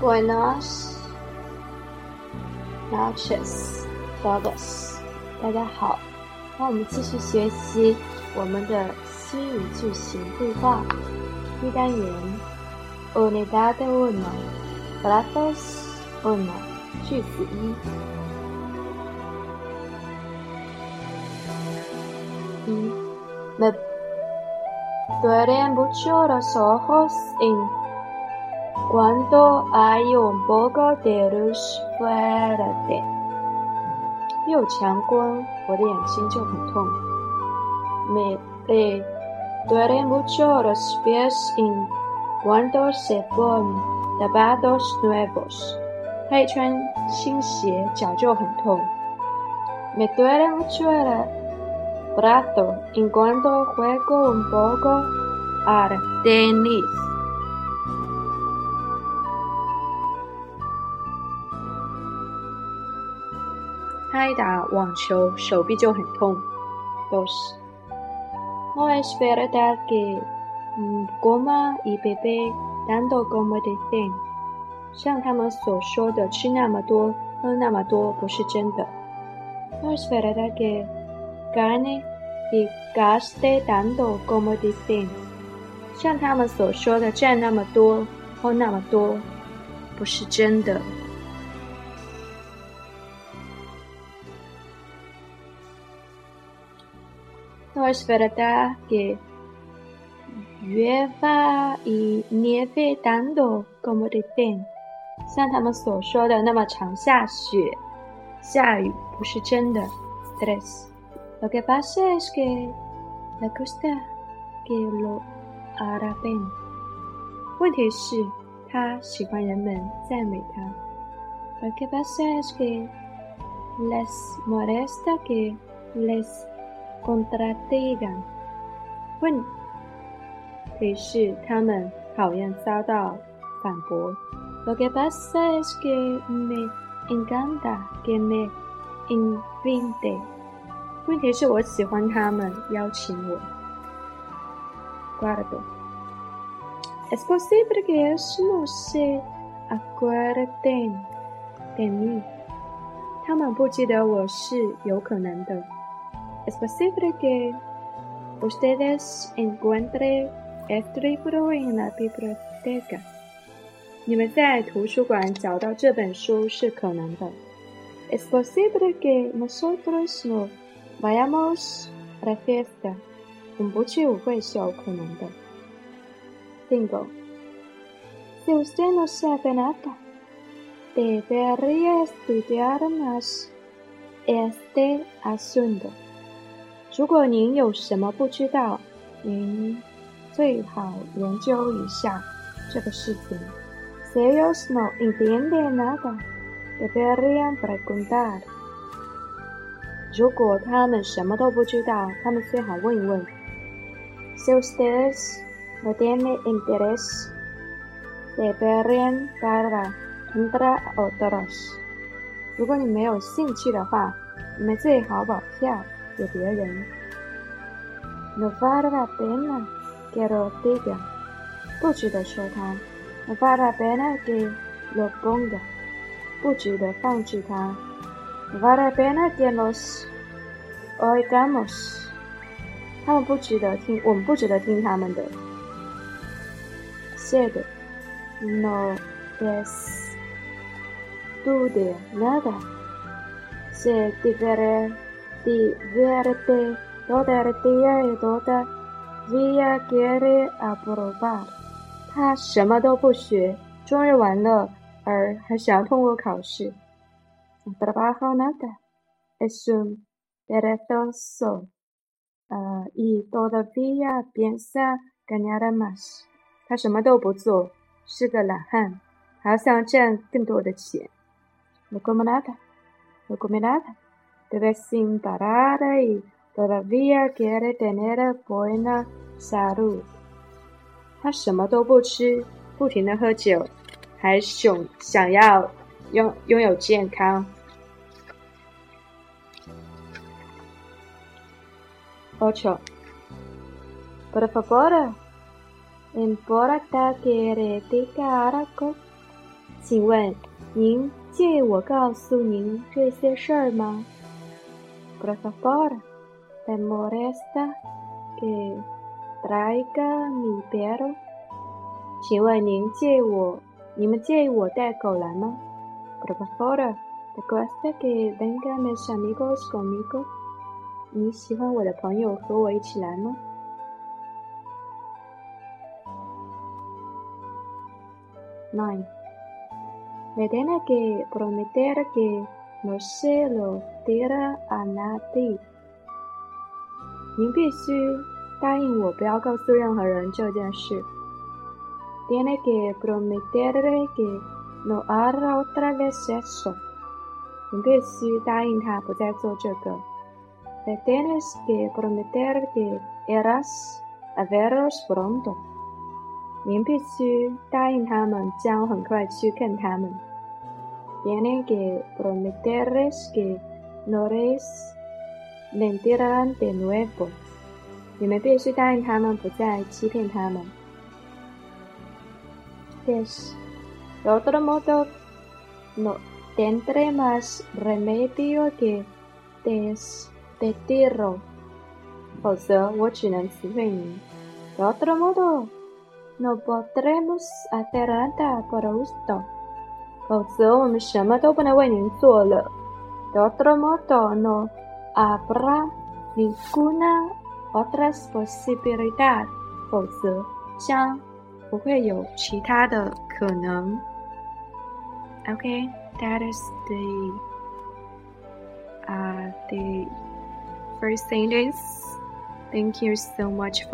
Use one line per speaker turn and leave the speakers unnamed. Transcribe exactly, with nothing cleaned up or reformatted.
Buenas noches, todos. 大家好，让我们继续学习我们的西语句型对话一单元 Unidad uno, Frases uno, 句子一。一 Me duelen mucho los ojos en cuando hay un poco de luz fuerte. 有强光，我的眼睛就很痛。Me duelen mucho los pies en cuando se ponen zapatos nuevos. 他一穿新鞋，脚就很痛。Me duele mucho el brazo en cuando juego un poco al tenis. 他一打网球，手臂就很痛。Dos. No es verdad que coma y bebe tanto como dicen. 像他们所说的，吃那么多，喝那么多，不是真的。No es verdad que gane y gaste tanto como dicen. 像他们所说的，赚那么多，喝那么多，不是真的。No es verdad que llueva y nieve tanto como dicen. 像他们所说的那么常下雪下雨不是真的。Tres. Lo que pasa es que le gusta que lo alaben. 问题是他喜欢人们赞美他。Lo que pasa es que les molesta que les contradigan. 问题是他们讨厌遭到反驳。Lo que pasa es que me encanta que me inviten. 问题是我喜欢他们邀请我。Cuarto. Es posible que ellos no se acuerden de mí. 他们不记得我是有可能的。Es posible que ustedes encuentren este libro en la biblioteca. 你们在图书馆找到这本书是可能的。Es posible que nosotros no vayamos a la fiesta. 我们不去舞会是有可能的。Cinco. Si usted no sabe nada, debería estudiar más este asunto. 如果您有什么不知道，您最好研究一下这个事情。Si ellos no entienden nada, deberían preguntar. 如果他们什么都不知道，他们最好问一问。Si ustedes no tienen interés, deberían para entrar otros. 如果你没有兴趣的话，你们最好把票给别人。No vale la pena que lo digan. 不值得说它。No vale la pena que lo ponga. 不值得放置它。No vale la pena que los oigamos. 他们不值得听，我们不值得听他们的。Siete. No estudia nada. Se divierte divierte todo el día y todavía quiere aprobar. 他什么都不学，终日玩乐，而还想要通过考试。No trabaja nada. Es un perezoso. Uh, y todavía piensa ganar más. 他什么都不做，是个懒汉，还要想赚更多的钱。No come nada. No come nada. Vive sin parar y todavía quiere tener buena salud. 他什么都不吃，不停地喝酒，还想想要拥拥有健康。Ocho. Por favor, importa que le diga algo. 请问您介意我告诉您这些事儿吗 ？Por favor, te molesta que traiga mi perro？ 请问您介意我，你们介意我带狗来吗 ？Por favor, te gusta que vengan mis amigos conmigo？ 你喜欢我的朋友和我一起来吗？Nine.Me tiene que prometer que no se lo dirá a nadie。 您必须答应我不要告诉任何人这件事。Tiene que prometerle que no hará otra vez eso。 您必须答应他不再做这个。Le tienes que prometer que irás a verlos pronto。您必须答应他们将很快去看他们。Tienen que prometerles que no les mentirán de nuevo。 你们必须答应他们不再欺骗他们。Yes. De otro modo, no tendré más remedio que despedirlo。 否则我只能辞退您。De otro modo,No podremos hacer nada por usted。 否则我们什么都不能为您做了。De otro modo, no habrá ninguna otra posibilidad。 否则将不会有其他的可能。Okay, that is the uh the first sentence. Thank you so much for